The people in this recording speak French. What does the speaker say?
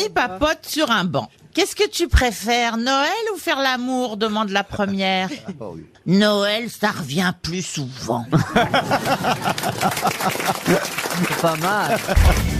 amis papotent sur un banc. Qu'est-ce que tu préfères, Noël ou faire l'amour, demande la première. Noël, ça revient plus souvent. C'est pas mal.